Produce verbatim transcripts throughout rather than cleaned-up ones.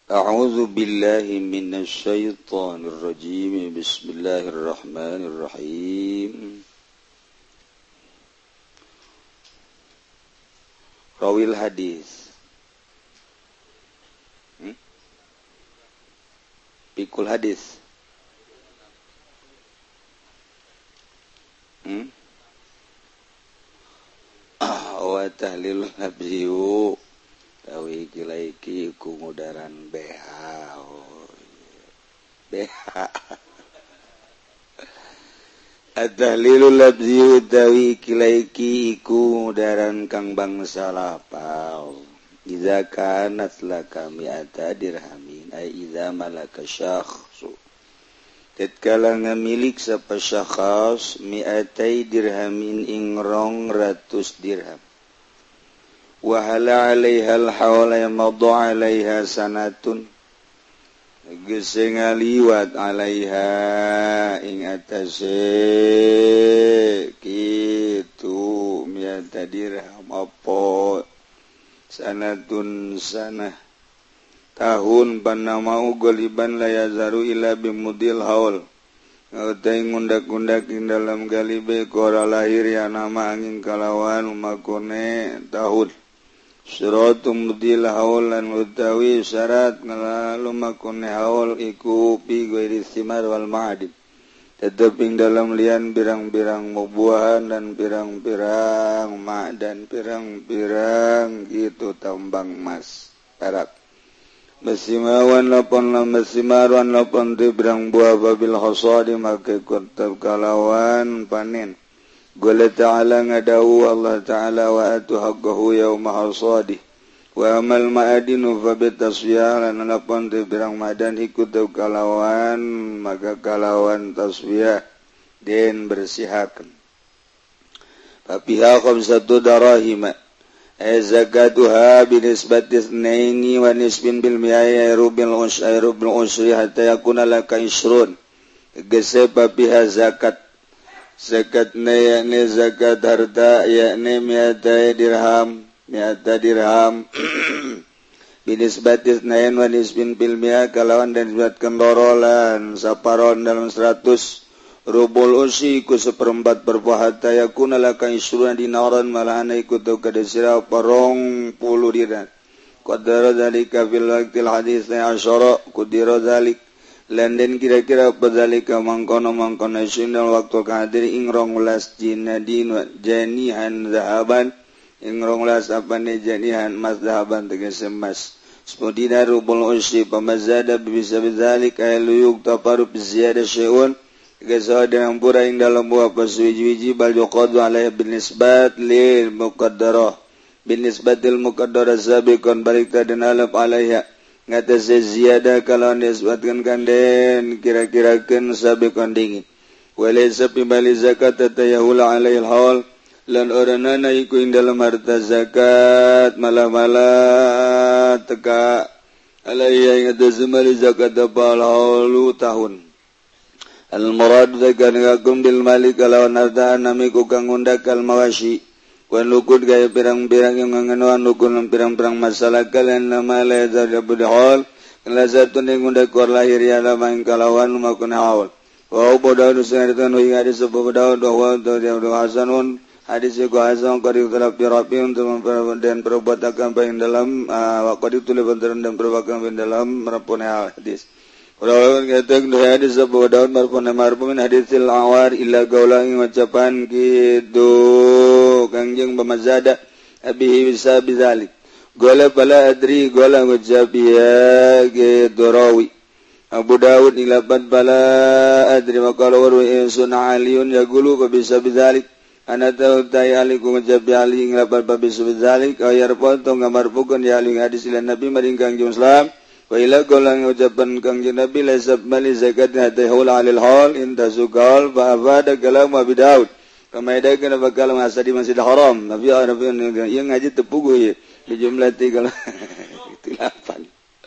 A'udzu billahi minasy syaithanir rajim. Bismillahirrahmanirrahim. Rawil hadis. Hmm? Pikul hadis. Hmm? Wa tahlilul habziyu. Tawi kilaiki kumudaran B H. Oh, B H. At-tahlilul labzi tawi kilaiki iku mudaran kang bangsa lapal. Iza kanat laka mi'ata dirhamin ay iza malaka syakhsu. Tatkala ngamilik sapa syakhs mi'atai dirhamin ing rong ratus dirham. Wahala alaihal hawla yamaddu alaiha sanatun gese ngaliwat alaiha ing atase kitu miata dirham apa sanatun sanah tahun panamau goliban layazaru ila bimudil haul ngautai ngundak-ngundak ing dalam galibe kora lahir ya nama angin kalawan umakone tahun Syaratum mudil haul lan utawi syarat ngalalu makune haul iku pi ghairi thimar wal ma'adib. Tetep ing dalam lian pirang-pirang buah dan pirang-pirang ma' dan pirang-pirang gitu tambang emas perak. Mesimawan lapon la mesimaran lapon ti pirang buah babil hasadi make kutab kalawan panen. Qala ta'ala ngadawu Allah ta'ala wa atu haqqahu yawma hasadih wa amal ma'adinu fabitaswiyah lan lapon te birang madan ikut kalawan maka kalawan taswiyah den bersihaken papiha khamsatu darahima ay zakatuha binisbati itsnaini wa nisbin bil mi'aya rubil usai rubil usri hatta yakuna laka isrun gese papiha zakat zakatna yakni zakat harta yakni mi'ata dirham mi'ata dirham binisbatis nain wa nisbin bil mi'a kalawan dan disebutkan lorolan saparon dalam seratus rubul usi ku seperempat berpuhata yakuna laka isruna dinaran malahana ikut kadesira parong puluh dinar qadara dzalika fil waqtil hadis na asyara qadira dzalik Landen kira-kira padzalika mangkono mangkono sinal waktu kadir ing rong welas jinadin janihan zahaban ing rong welas apane janihan mas zahaban tegese emas sepudina rubul usri pamazada bisa bidzalik ay luyuk taparu biziyada syai'un gesa dengan pura ing dalam buah paswiji-wiji bal yuqadu alaihi binisbat lil muqaddarah binisbatil muqaddarah sabiqan balik tadin alaf alaiha ngatasi ziyada kalau disebutkan kanden kira-kirakan sabiqan dingin walaysa pibali zakat tatayahula alaihil haul lan oranana iku ing dalam harta zakat malah-malah teka alaiya ngatasi mali zakat apal haulu tahun al-murad zakat ngakum bil malik kalawan harta namiku kang undakal mawashi wan lukut gaya pirang-pirang yang mengenuan lukut pirang-pirang masalah kalian nama lezat abdul kelazatun yang undak kor lahir ya lama yang kalawan makun haul wa bodoh nusan itu nuhi hadis sebuah bodoh doa untuk dia doa hasanun hadis itu hasan kari utalap rapi untuk memperbaiki dan perbuatan baik dalam waktu itu lebih dan perbuatan dalam merapunya hadis. Kalau kita doa hadis sebuah bodoh merapunya merapunya hadisil awar illa gaulang ucapan gitu. Kangjeng pemazada abihi bisa bizalik gola pala adri gola ngucapiya gitu rawi Abu Dawud ilapan pala adri makala warwi sunna aliyun ya gulu bisa bizalik anata utai aliku ngucapi ali ilapan bisa bizalik ayar potong gambar pukun ya ali hadis ilan nabi maring kangjeng islam wa ila gola ngucapan kangjeng nabi laisab mali zakat hatta hul alil hal inta sugal fa afada kalam Abu Dawud Kamaida kena bakal masadi masjid haram. Nabi Nabi yang ngaji tepugu ya. Di jumlah tiga delapan.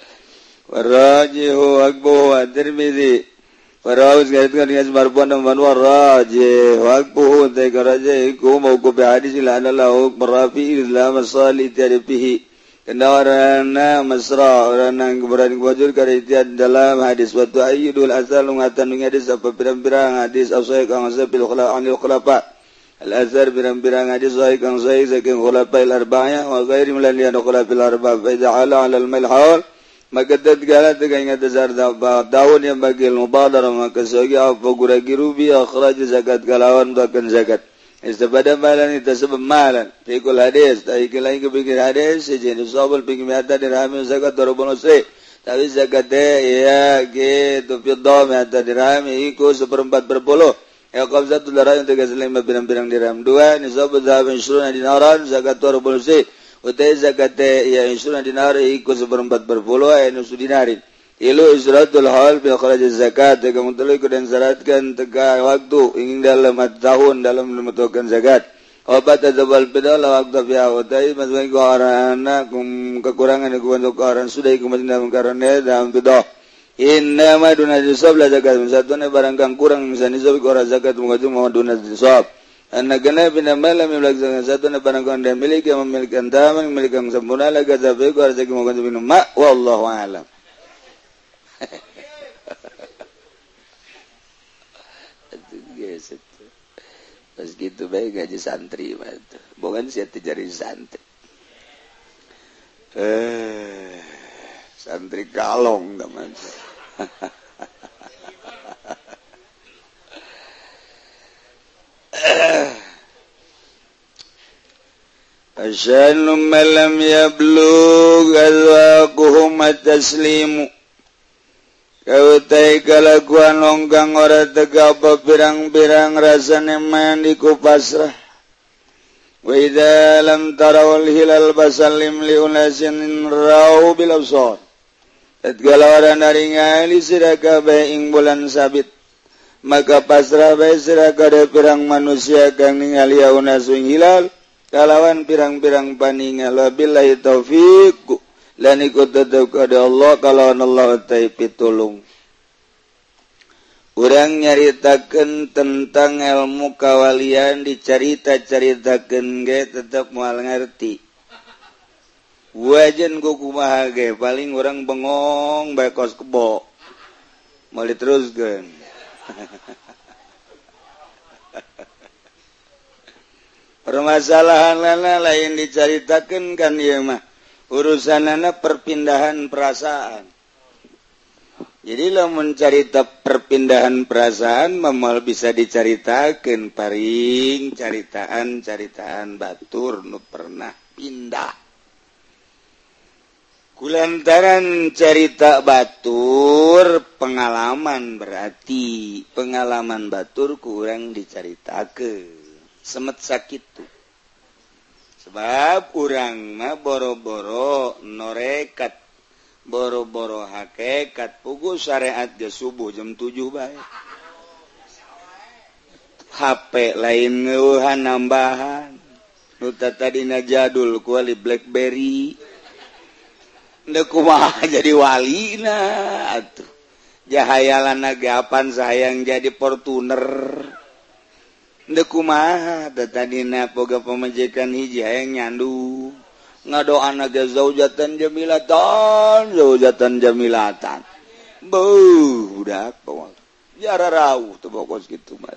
Warajihu akbu wa Tirmidzi. Waraus ngaitkan dengan marfu'an dan warajih wa akbu ta raja iku mau ku bi hadis la anallahu marafi ila masali tarifihi. kendarana mesra orang keberani wajur karitian dalam hadis waktu ayyidul asal ngatan hadis apa pirang-pirang hadis asai kang sabil khula anil khulafa al azhar pirang-pirang hadis sahih kang sahih saking khulafa al arba'ah wa ghairi min al khulafa al arba' fa ja'ala al malhaul maka tatkala dengan dasar daun yang bagi mubadarah maka sebagai apa guragi rubi akhraj zakat kalawan bahkan zakat istabada malan itu sebab malan fikul hadis tapi lain kepikir hadis sejenis sabul pikir mata dirham zakat dorobon usri tapi zakat ya gitu fiddah mata dirham ikut seperempat berpuluh ya qabzatul darah yang tiga lima pirang-pirang dirham dua nisab zahab insyuruna dinaran zakat dorobon usri utai zakat ya insyuruna dinar ikut seperempat berpuluh ya nusu dinarin ilu izratul hal bil kharaj zakat kamu telah ikut dan syaratkan tegak waktu ingin dalam tahun dalam menentukan zakat obat adzabal bidal waktu fi awtai masbagi qarana kum kekurangan ku untuk orang sudah ikut dalam karena dalam bidah inna ma duna nisab la zakat satu barang kang kurang misalnya nisab orang zakat mengajung ma duna nisab anak kena bina malam melaksanakan satu barang kau anda miliki yang memiliki taman memiliki yang sempurna lagi tapi kau harus mau kau minum mak wallahu alam. Pas gitu baik gaji santri mah bukan siapa jadi santri eh santri kalong teman. Asyanu malam yablug alwaquhum at-taslimu kautai kalakuan longgang ora tegapa pirang-pirang rasane mandiku pasrah wa idza lam tarawal hilal basallim li unasin rau bil absar tatkala ora naringali siraka baing bulan sabit maka pasrah bae siraka de pirang manusia kang ningali unasun hilal kalawan pirang-pirang paningal billahi taufiq lan ikut tetep kada Allah kalawan Allah ta'i pitulung urang nyaritakeun tentang ilmu kawalian dicarita-caritakeun ge tetep moal ngarti wajan ku kumaha ge paling urang bengong bae kos kebo moal diteruskeun permasalahanana lain dicaritakeun kan ieu mah urusanana perpindahan perasaan. Jadi lamun carita perpindahan perasaan mamal bisa dicaritakeun paring caritaan-caritaan batur nu pernah pindah. Kulantaran cerita batur pengalaman berarti pengalaman batur kurang dicaritakeun. Semet sakit tuh sebab urang mah boro-boro norekat boro-boro hakikat pugu syariat ge subuh jam tujuh bae H P lain ngeuhan nambahan nu tadina jadul kuali BlackBerry ndeu kumaha jadi walina atuh jahayalanna gapan sayang jadi Fortuner ndeu kumaha tadina boga pamajikan hiji hayang nyandu ngadoana ge zaujatan jamilatan zaujatan jamilatan beuh budak pokok jara rawuh teu pokos kitu mah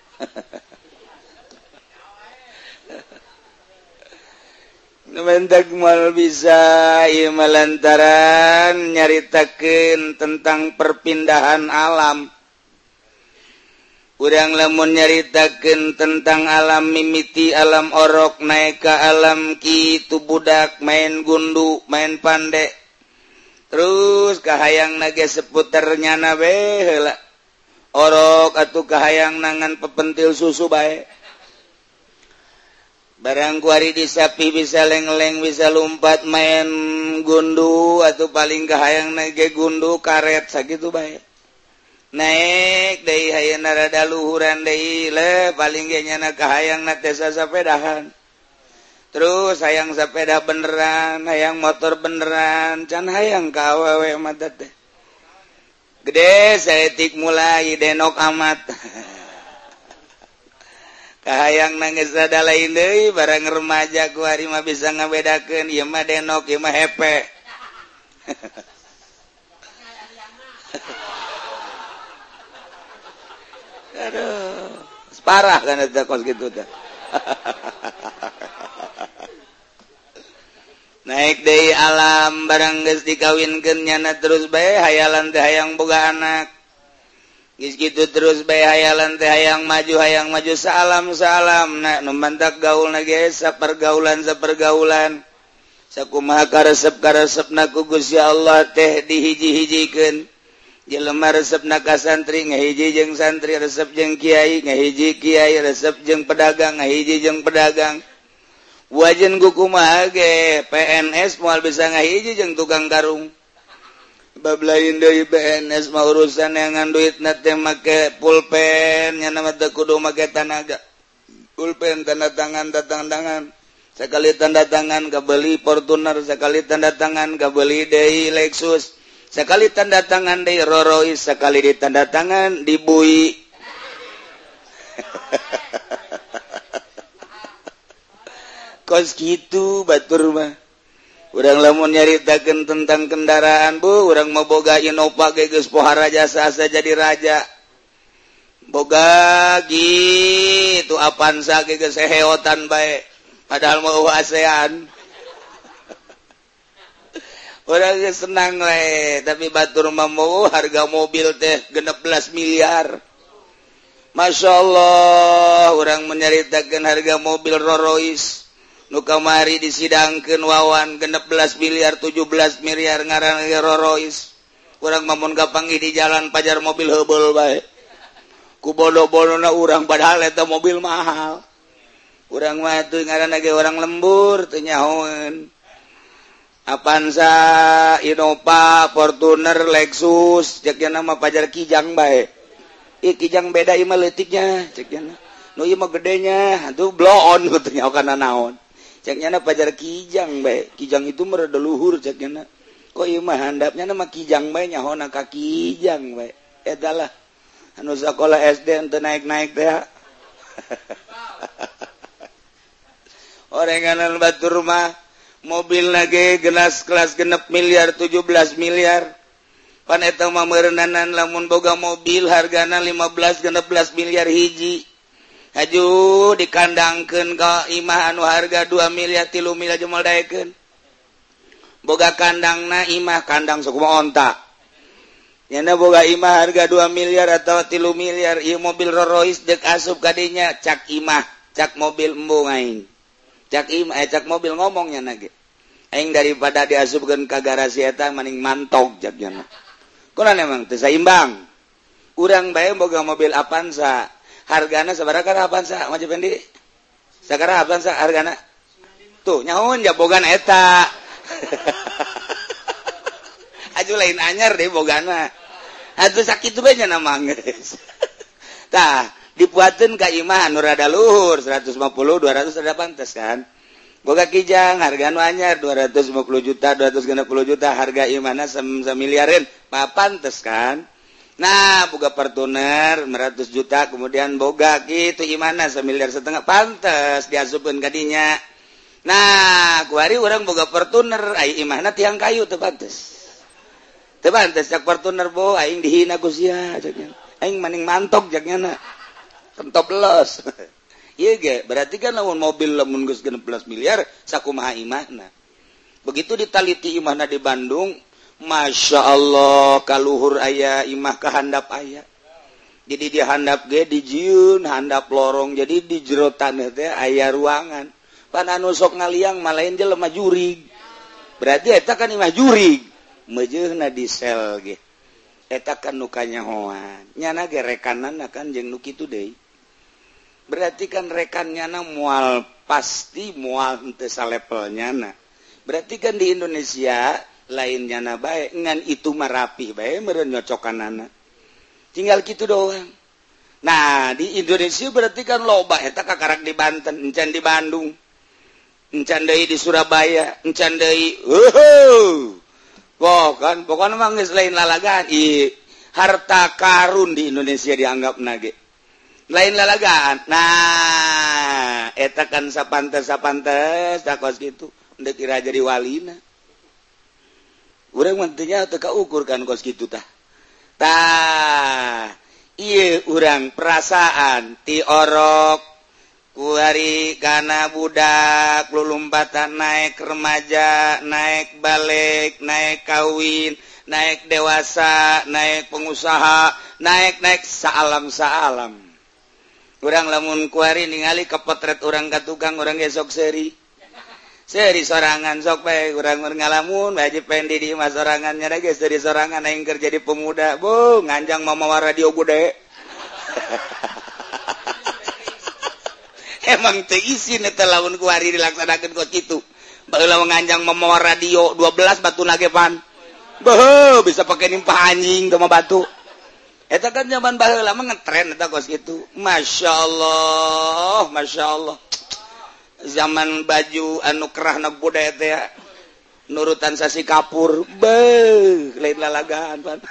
Nementak mal bisa ieu lantaran nyaritakeun tentang perpindahan alam. Urang lamun nyaritakeun tentang alam mimiti alam orok naik ka alam kitu budak main gundu main pande terus kahayang nage seputar nyana bae heula orok atuh kahayang nangan pepentil susu bae barang kuari disapi bisa leng-leng bisa lompat main gundu atuh paling kahayang nage gundu karet sakitu bae naik deui hayeuna rada luhuran deui le paling ge nyana kahayang na teh sapedahan terus hayang sepeda beneran hayang motor beneran can hayang ka awewe mah teh gede saeutik mulai denok amat kahayang nangis rada lain deui barang remaja ku ari mah bisa ngabedakeun ieu mah denok ieu mah hepe. Aduh, parah kan eta kos kitu teh. Naik deui alam barang geus dikawinkeun nyana terus bae hayalan teh hayang boga anak. Geus kitu terus bae hayalan teh hayang maju hayang maju salam salam na nu mantak gaulna ge sapergaulan sapergaulan. Sakumaha karesep karesepna ku Gusti Allah teh dihiji-hijikeun. Jelema resepna ka santri ngahiji jeung santri resep jeung kiai ngahiji kiai resep jeung pedagang ngahiji jeung pedagang. Wajen kukumaha ge P N S moal bisa ngahiji jeung tukang karung. Bab lain deui P N S mah urusan yang duitna teh make pulpen nya mah teu kudu make tanaga. Pulpen tanda tangan tanda tangan. Sakali tanda tangan kabeli Fortuner, sakali tanda tangan kabeli deui Lexus. Sekali tanda tangan di Rorois, sekali di tanda tangan di Bui. Kos gitu batur mah. Urang lamun nyaritakeun tentang kendaraan bu, urang mau boga Innova ge geus pohara jasa asa jadi raja. Boga gitu Avanza ge geus heheotan bae. Padahal mau ASEAN. Orang senang we, tapi batur mah mau harga mobil teh genep belas miliar. Masya Allah, orang menyaritakan harga mobil Rolls-Royce. Nu kamari disidangkeun wawan genep belas miliar, tujuh belas miliar ngaran Rolls-Royce. Orang mamun kapanggih di jalan pajar mobil heubel bae. Ku bodo-bodona urang padahal eta mobil mahal. Urang mah teu ngaranna ge orang lembur teu nyahoeun. Avanza, Innova, Fortuner, Lexus, ceknya nama pajar kijang bae. Ih kijang beda ieu mah leutiknya, ceknya. Nu ieu mah gedenya, atuh blow-on katanya kana naon. Ceknya na pajar kijang bae. Kijang itu mah rada luhur ceknya. Kok ieu mah handapnya nama kijang bae nyahona ka kijang bae. Eta lah. Anu sakola S D teu naik-naik teh. Orenganan batur mah mobil lagi gelas kelas genep miliar tujuh belas miliar pan eta mah meureunnanan lamun boga mobil hargana lima belas genep belas miliar hiji haju dikandangkeun ka imah anu harga dua miliar tilu miliar jumal daekeun boga kandangna imah kandang sakumaha onta nyana boga imah harga dua miliar atau tilu miliar ieu mobil Rolls-Royce deuk asup ka dinya cak imah cak mobil embung aing cak imah eh, cak mobil ngomongnya nage aing daripada diasupkeun ka garasi eta maning mantog jakna kunaon emang teu saimbang urang bae boga mobil Avanza hargana sabaraha ka Avanza Mas Pendi sakaraha Avanza hargana tuh nyahoon ja bogan eta aju lain anyar deh bogana atuh sakitu bae nya mah geus tah dipuateun ka imah anu rada luhur seratus lima puluh dua ratus rada pantes kan boga kijang harga anu anyar dua ratus lima puluh juta dua ratus enam puluh juta harga imahna samiliareun pantes kan nah boga Fortuner seratus juta kemudian boga kitu imahna samiliar setengah pantes diasupkeun ka dinya nah kuari urang boga Fortuner ai imahna tiang kayu teu pantes teu pantes cak Fortuner bo aing dihina ku sia caknya aing maning mantok jaknya kentop los. Iya ge, berarti kan lamun mobil lamun geus genep belas miliar sakumaha imahna. Begitu ditaliti imahna di Bandung, Masya Allah kaluhur aya imah ka handap aya. Jadi di handap ge dijieun handap lorong jadi di jero taneuh teh aya ruangan. Pan anu sok ngaliang malain jelema jurig. Berarti eta kan imah jurig. Meujeunna di sel ge. Eta kan nu kanyahoan. Nyana ge rekananna kan jeung nu kitu deui. Berarti kan rekannya na mual pasti mual ente salepelnya na. Berarti kan di Indonesia lainnya na baik ngan itu marapi baik meren nyocokanana. Tinggal gitu doang. Nah di Indonesia berarti kan loba eta kakarak di Banten, encan di Bandung, encan deui di Surabaya, encan deui. Heuh. Wah kan pokoknya mah geus lain lalagan. I harta karun di Indonesia dianggap nage. lain lalagaan. Nah eta kan sapantes sapantes tak kos gitu ndek kira jadi walina urang mentinya teu kaukur kan kos gitu tah tah ieu urang perasaan ti orok ku hari kana budak lulumpatan naik remaja naik balik naik kawin naik dewasa naik pengusaha naik naik saalam saalam urang lamun kuari ningali ke potret urang ka tukang urang ge sok seri seri sorangan sok bae urang ngalamun wajib pendi di mah sorangannya da ge seri sorangan aing keur jadi pemuda bu nganjang mamawa radio bude emang teu isin eta lamun kuari dilaksanakeun kos kitu baheula nganjang mamawa radio dua belas batuna ge pan beuh bisa pake nimpah anjing teu mah batu. Eta kan zaman baheula mah ngetren eta kos kitu. Masyaallah, masyaallah. Zaman baju anu kerahna budaya teh nurutan sasi kapur, beuh, lain lalagaan pan.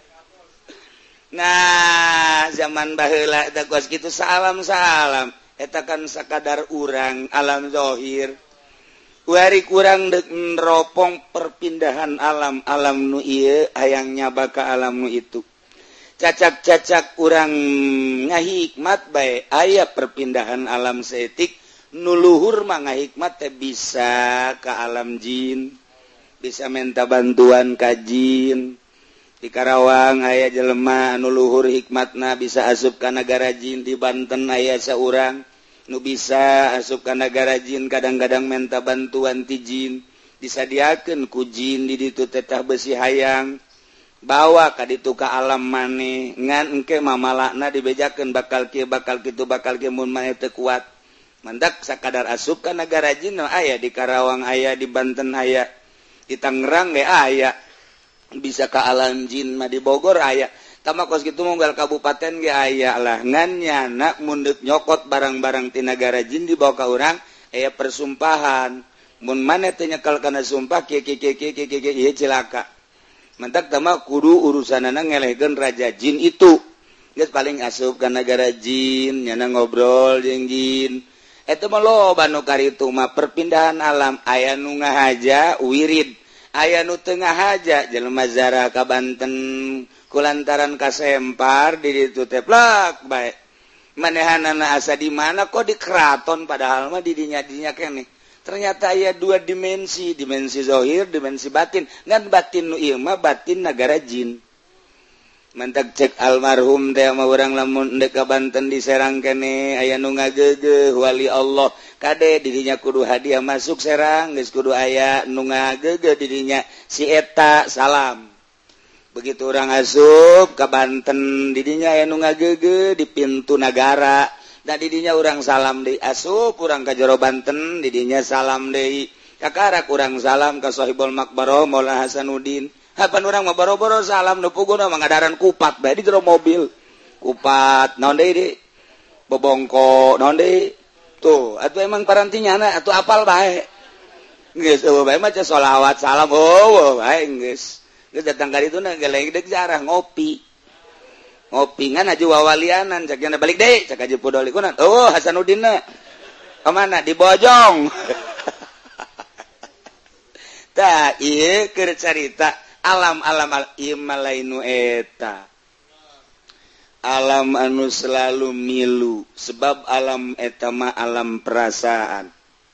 Nah, zaman baheula eta kos kitu salam-salam. Eta kan sakadar urang alam zahir. Kuari kurang dek neropong perpindahan alam alam nu ieu hayang nyaba ka alam nu itu. Cacak-cacak urang ngahikmat bae aya perpindahan alam setik nuluhur mah ngahikmat teh bisa ke alam jin bisa minta bantuan ka jin di Karawang aya jelema anu luhur hikmatna bisa asup ka nagara jin di Banten aya saurang nu bisa asup ka nagara jin kadang-kadang minta bantuan ti jin disadiakeun ku jin di ditu teteh besi hayang bawa ka ditu ka alam maneh ngan engke mamalakna dibejakeun bakal kieu bakal kitu bakal kieu mun maneh teu kuat mandak sakadar asup ka nagara jin aya di Karawang aya di Banten aya di Tangerang ge aya bisa ka alam jin mah di Bogor aya tama kos kitu munggal kabupaten ge aya lah ngan nyana mun deuk nyokot barang-barang ti nagara jin dibawa ka urang aya persumpahan mun maneh teu nyekel kana sumpah kieu kieu kieu kieu kieu ieu cilaka mantak tama kudu urusanana ngelehkeun raja jin itu geus paling asup ka nagara jin nyana ngobrol jeung jin eta mah loba nu karitu mah perpindahan alam aya nu ngahaja wirid aya nu teu ngahaja jelema zarah ka Banten kulantaran kasempar di ditu teh plak bae manehanana asa di mana kok di keraton padahal mah di dinya-dinya keneh ternyata aya dua dimensi, dimensi zahir, dimensi batin. Ngan batin nu ieu mah batin nagara jin. Mantak cek almarhum teh mah urang lamun endek ka Banten di Serang keneh aya nu ngageugeuh wali Allah. Kade di dinya kudu hadiah masuk Serang, geus kudu aya nu ngageugeuh di dinya si eta salam. Begitu urang asup ka Banten di dinya aya nu ngageugeuh di pintu nagara. Da didinya urang salam deui asup urang ka jero Banten didinya salam deui kakarak urang salam ka Sohibul Makbaroh Maulana Hasanuddin hapan urang mah boro-boro salam nu puguna mangadaran kupat bae di jero mobil kupat naon deui di bobongko naon deui tuh atuh emang parantinyana atuh apal bae geus eueuh bae mah ca sholawat salam eueuh bae geus geus datang ka ditu na geleng deuk jarah ngopi ngopingan aja wawalianan cak yana balik deh cak aja podoli kunan oh Hasanuddin na kemana di Bojong tak iya keur carita alam alam al imalainu eta alam anu selalu milu sebab alam eta mah alam perasaan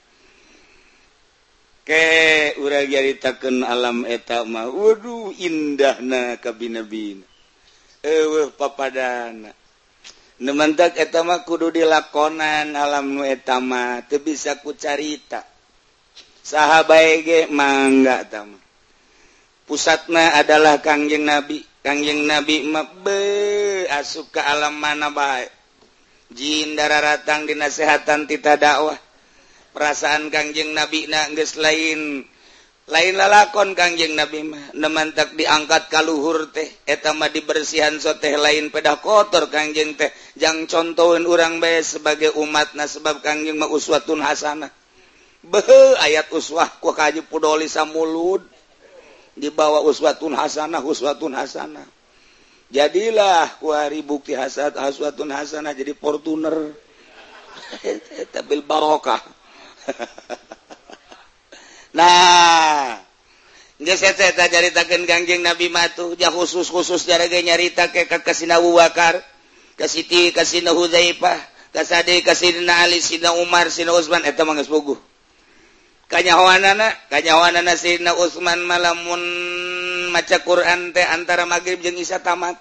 ke urang nyaritakeun alam eta mah waduh indahna kabina-bina eueuh papadana nu mantak eta mah kudu dilakonan alam nu eta mah teu bisa ku carita saha bae ge mangga eta mah pusatna adalah Kangjeng Nabi Kangjeng Nabi mah be asup ka alam mana bae jin dararatang dinasehatan tita dakwah perasaan Kangjeng Nabi na geus lain lain lalakon Kangjeng Nabi mah nemantak diangkat ka luhur teh eta mah dibersihan so teh lain pedah kotor Kangjeng teh jang contoheun urang bae sebagai umatna sebab Kangjeng mah uswatun hasanah beuh ayat uswah ku kaji podoli samulud dibawa uswatun hasanah uswatun hasanah jadilah kuari bukti hasad haswatun hasanah jadi Fortuner bil barokah. Nah geus eta caritakeun Kangjeng Nabi matuh ja khusus-khusus jaraga nyarita ke ka Sidina Abu Bakar ka Siti ka Sidina Hudzaifah ka Sadi ka Sidina Ali Sidina Umar Sidina Utsman eta mah geus puguh kanyahoanana kanyahoanana Sidina Utsman malamun maca Quran teh antara magrib jeung isya tamat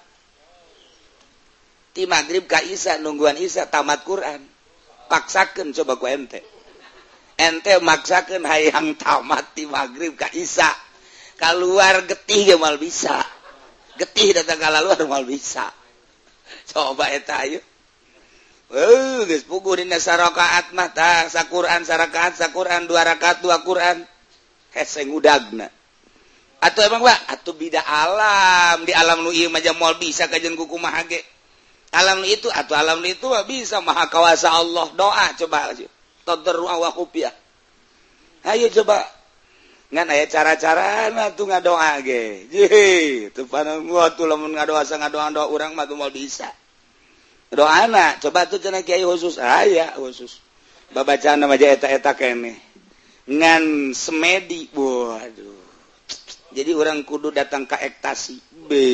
ti magrib ka isya nungguan isya tamat Quran paksakeun coba ku ente ente maksakeun hayang tamat ti magrib ka isya keluar getih ge mal bisa getih datang ka luar mal bisa coba eta ayeuna eh geus puguh dina sarakaat mah tah saquran sarakaat saquran dua rakaat dua Quran hese ngudagna atuh emang Pak atuh bida alam di alam nu ieu mah moal bisa kajeun ku kumaha ge alam itu atau alam itu bisa maha kawasa Allah doa coba tadarru wa khufiyah ayo coba ngan aya cara-cara na tuh ngadoa ge jeuh teu panang atuh lamun ngadoa sa ngadoa doa urang mah tuh moal bisa doana coba tuh cenah kiai khusus aya khusus babacana mah eta-eta keneh ngan semedi waduh jadi orang kudu datang ke ektasi be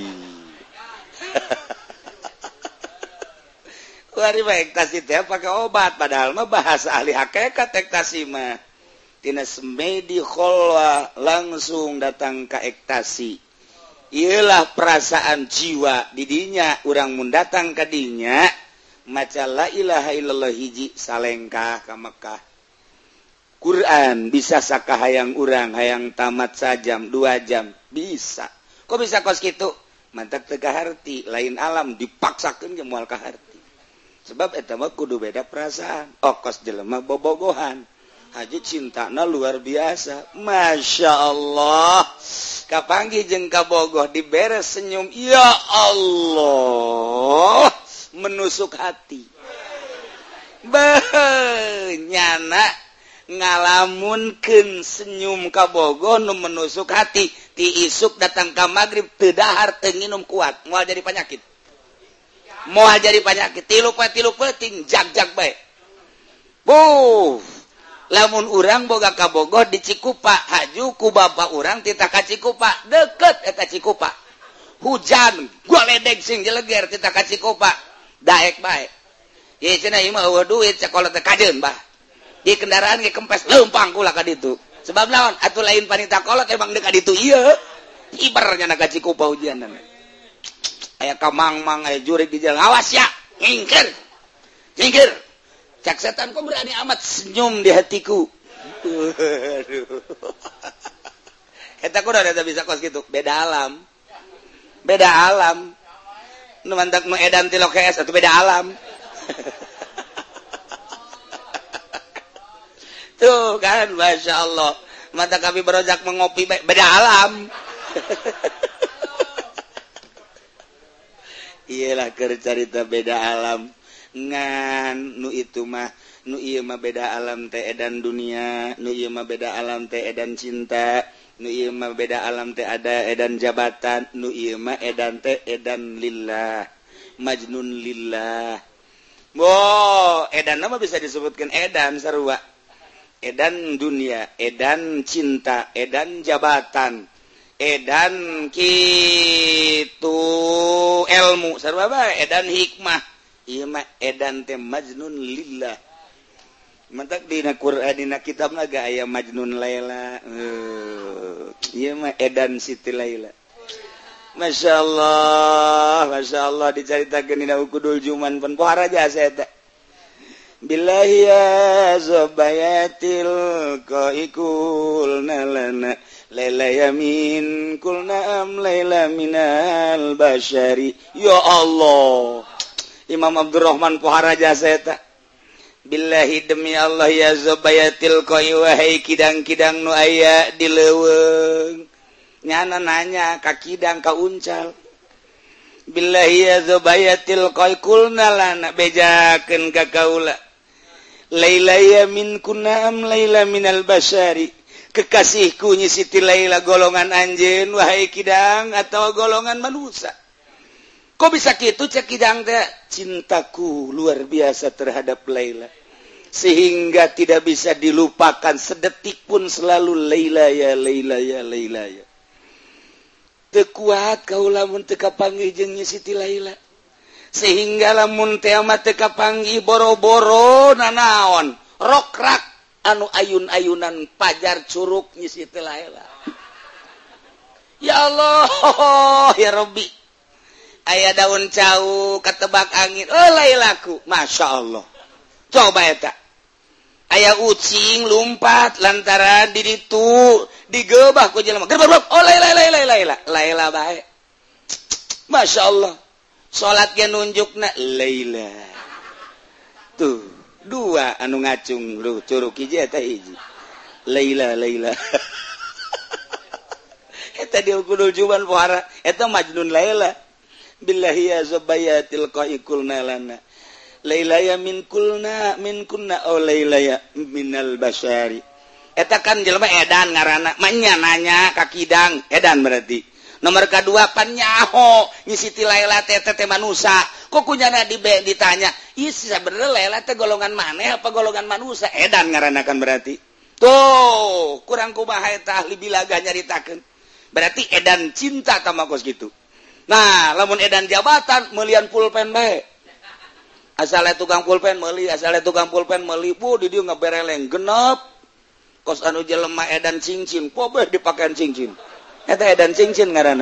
Kuari mah ektasi teh pakai obat padahal mah bahasa ahli hakikat ektasi mah tina semedi kholwa langsung datang ke ektasi ialah perasaan jiwa di dinya urang mun datang ka dinya maca la ilaha illallah hiji salengkah ka Mekah Quran bisa sakahayang urang hayang tamat sajam dua jam bisa kok bisa kos kitu mantak teu kaharti lain alam dipaksakeun ge moal kaharti sebab eta mah kudu beda perasaan okos jelema bobogohan haji cintana luar biasa Masya Allah kapanggih jeung kabogoh diberes senyum ya Allah menusuk hati benyana ngalamunkeun senyum kabogoh nu menusuk hati ti isuk datang ka magrib teu dahar teu nginum kuat moal jadi penyakit moal jadi penyakit tilu pe tilu peuting jag-jag bae buh lamun urang boga kabogoh di Cikupa haju ku bapa urang tita ka Cikupa deket eta Cikupa hujan goledeg sing jeleger tita ka Cikupa daek bae ye cenah ieu mah eueuh duit sakolot teh kajeun bah di kendaraan ge kempes leumpang kula ka ditu sebab naon atuh lain panita kolot emang deuk ka ditu ieu ibarnya na ka Cikupa hujanan aya kamang-mang aya jurig di jalan awas ya ngingkir ngingkir cak setan kok berani amat senyum di hatiku aduh eta kudu ada bisa kos gitu beda alam beda alam nu mantak nu edan ti lokes atuh beda alam tuh kan Masya Allah mantak kami berojak mengopi beda alam iyalah keur carita beda alam ngan nu itu mah nu ieu mah beda alam teh edan dunia nu ieu mah beda alam teh edan cinta nu ieu mah beda alam teh ada edan jabatan nu ieu mah edan teh edan lillah majnun lillah wo edan mah bisa disebutkan edan sarua edan dunia edan cinta edan jabatan edan kitu ilmu sarua bae edan hikmah ieu mah edan teh majnun lillah mantak dina Qur'an dina kitab naga aya majnun laila ieu mah edan Siti Laila Masya Allah Masya Allah dicaritakeun dina ukudul juman pun pohara jasa eta billahi ya zabayatil qaikul nalana Laila yamin kul na'am Laila minal basyari ya Allah Imam Abdurrahman Pohara jasa eta billahi demi Allah ya zabayatil qai wahai kidang-kidang nu aya di leuweung nyana nanya ka kidang ka uncal billahi ya zabayatil qai kulna lana bejakeun ka kaula Laila yamin kul na'am Laila minal basyari kekasihku nyi Siti Laila golongan anjeun wahai kidang atau golongan manusia kok bisa gitu cek Idang teh cintaku luar biasa terhadap Laila sehingga tidak bisa dilupakan sedetik pun selalu Laila ya Laila ya Laila ya teu kuat kaula mun teu kapanggih jeung Siti Laila sehingga lamun teh mah teu kapanggih boro-boro nanaon rokrak anu ayun-ayunan pajar curug Nyi Siti Laila ya Allah ya Rabbi aya daun cau katebak angin oh Lailaku Masya Allah coba eta aya ucing lumpat lantaran di ditu digebah ku jelema gerbak oh Laila Laila Laila Laila bae Masya Allah salat ge nunjukna Laila tuh dua anu ngacung lu curug hiji eta hiji Laila Laila eta dia kudu juban pohara eta Majnun Laila billahi ya zubayatil qaikulna lana Laila ya min kulna min kunna oh Laila ya minal basyari eta kan jelema edan ngaranna manya nanya ka Kidang edan berarti nomor kedua pan nyaho Nyi Siti Laila teh teh manusia kok kunyana di ditanya ieu sebenarnya Laila teh golongan maneh apa golongan manusia edan ngaranna kan berarti tuh kurang kumaha eta ahli bilaga nyaritakeun berarti edan cinta ka makos gitu nah lamun edan jabatan meulian pulpen bae asalnya tukang pulpen meuli asalnya tukang pulpen meuli bu di dieu ngabereleng genep kos anu jelema edan cincin pobeh dipakean cincin eta edan cincin ngaranna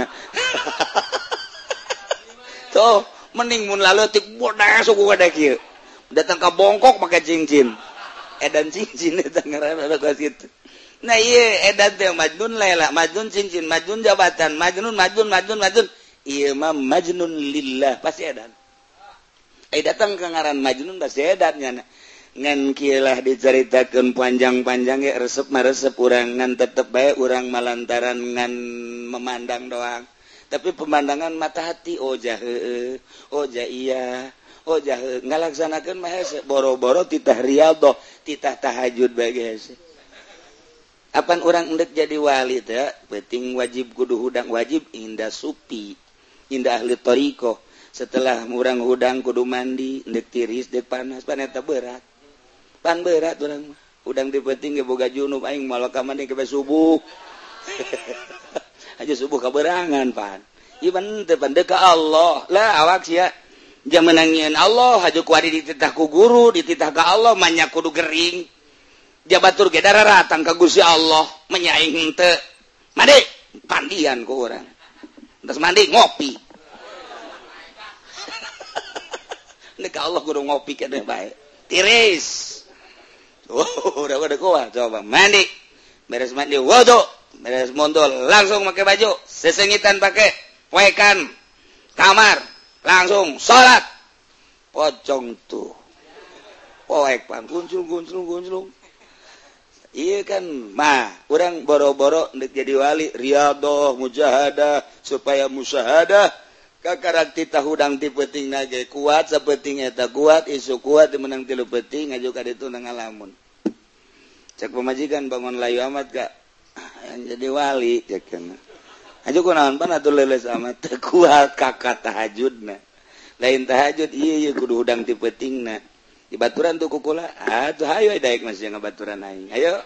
tuh mending mun laleutik bodas suku kada kieu datang ka bongkok make cincin edan cincin eta ngaranna ka situ nah ieu edan teh Majnun Laila Majnun cincin Majnun jabatan Majnun Majnun Majnun Majnun ieu mah Majnun lillah pasti edan ai datang ke ngaran Majnun pasti edan nya ngan kieu lah dicaritakeun panjang-panjang ge resep mah resep urang ngan tetep bae urang malantaran ngan memandang doang tapi pemandangan mata hati oh jah heueuh oh jah iya oh jah heueuh ngalaksanakeun mah hese boro-boro titah riyadhah titah tahajud bae hese apan urang endek jadi wali teh penting wajib kudu hudang wajib indah supi indah ahli thariqah setelah urang hudang kudu mandi endek tiris dek panas pan eta berat pan berat urang mah hudang dipenting ge boga junub aing malah ka mandi ke subuh aja subuh kaberangan pan iban teh pan ka Allah lah awak sia jaman nangieun Allah haja kuari dititah ku guru dititah ka Allah manya kudu gering jabatur ge dararatang ka Gusti Allah menyaing henteu mandi pandian ku urang terus mandi ngopi nek Allah kudu ngopi keneh bae tiris oh udah udah kuat coba mandi beres mandi wudu beres mondol langsung pakai baju sesengitan pakai wekan kamar langsung salat pocong tuh poek pan kuncul kuncul kuncul iya kan mah orang boro-boro ndek jadi wali riyadhah mujahadah supaya musyahadah kakarak titah hudang ti peuting nage kuat sapenting eta kuat isu kuat menang tilu peuting ngaju ka ditu nang ngalamun cek pemajikan bangun layu amat ka yang jadi wali cek kana aju kunaon pan atuh leles amat teu kuat kakak tahajudna lain tahajud ieu ieu kudu hudang ti peutingna dibaturan tuh kukula atuh hayu daek masih ngabaturan aing ayo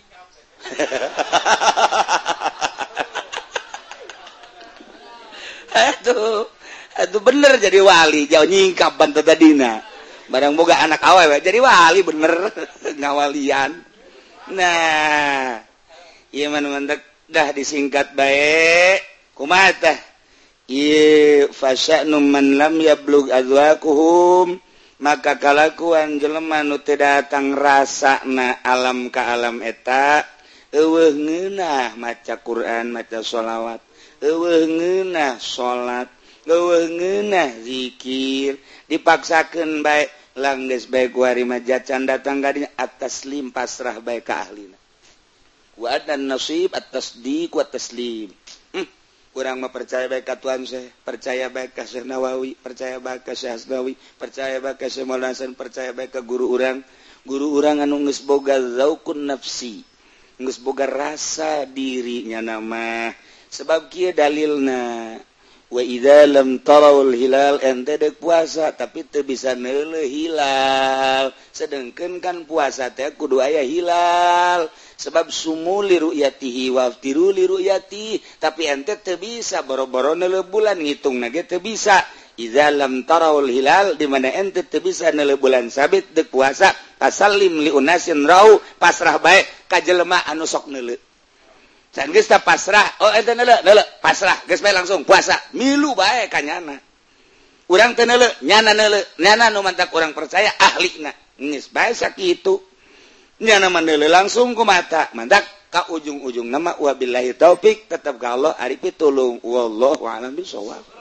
aduh aduh bener jadi wali jauh nyingkap bantu tadina barang boga anak awewe jadi wali bener ngawalian nah iya mana dah disingkat baik kumaha tah ieu fasya'nu man lam yablug azwaquhum maka kalakuan jelema nu teu datang rasana alam ka alam eta eueuh ngeunah maca Quran maca sholawat eueuh ngeunah salat eueuh ngeunah zikir dipaksakeun bae langgeus bae ku ari majacan datang ka dinya at-taslim pasrah bae ka ahlina wa adan nasib at-tasdiq wa taslim hmm. Urang mah percaya bae ka Tuhan Syekh percaya bae ka Syekh Nawawi percaya bae ka Syekh Asnawi percaya bae ka Syekh Maulana Hasan percaya bae ka guru urang guru urang anu geus boga zaukun nafsi geus boga rasa dirinya nama sebab kieu dalilna wa idza lam tarawul hilal ente dek puasa tapi teu bisa neuleuh hilal sedengkeun kan puasa teh kudu aya hilal sebab sumu li ru'yatihi wa aftiru li ru'yati tapi ente teu bisa boro-boro neuleuh bulan ngitungna ge teu bisa idza lam tarawul hilal di mana ente teu bisa neuleuh bulan sabit dek puasa tasallim li unasin rau pasrah bae ka jelema anu sok neuleuh can geus tah pasrah oh ente neuleuh neuleuh pasrah geus bae langsung puasa milu bae ka nyana urang teu neuleuh nyana neuleuh nyana nu mantak urang percaya ahlina geus bae sakitu nyana mah neuleuh langsung ku mata mantak ka ujung-ujung nama wabillahi taufik tetep ka Allah ari pitulung wallahu a'lam bishawab.